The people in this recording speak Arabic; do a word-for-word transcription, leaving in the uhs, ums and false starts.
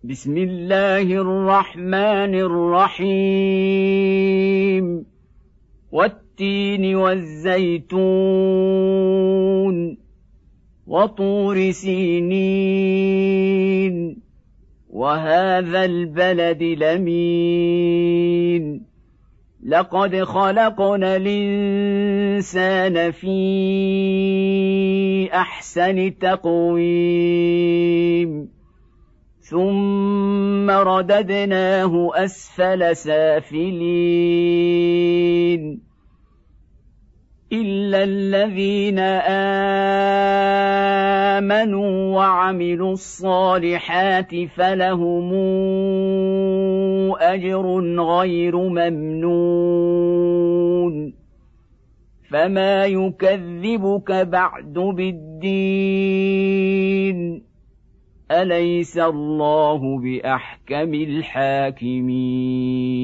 بسم الله الرحمن الرحيم والتين والزيتون وطور سينين وهذا البلد الأمين لقد خلقنا الإنسان في أحسن تقويم ثم رددناه أسفل سافلين إلا الذين آمنوا وعملوا الصالحات فلهم أجر غير ممنون فما يكذبك بعد بالدين أليس الله بأحكم الحاكمين